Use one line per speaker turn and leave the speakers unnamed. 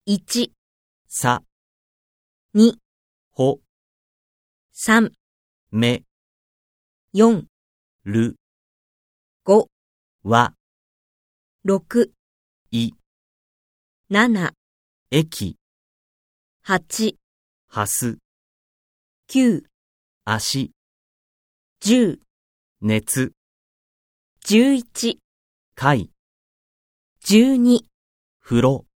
1、
さ、
2、
ほ、
3、
め、
4、
る、
5、
わ、
6、
い、
7、
駅、
8、
はす、
9、
足、
10、
熱、
11、
かい、
12、
風呂。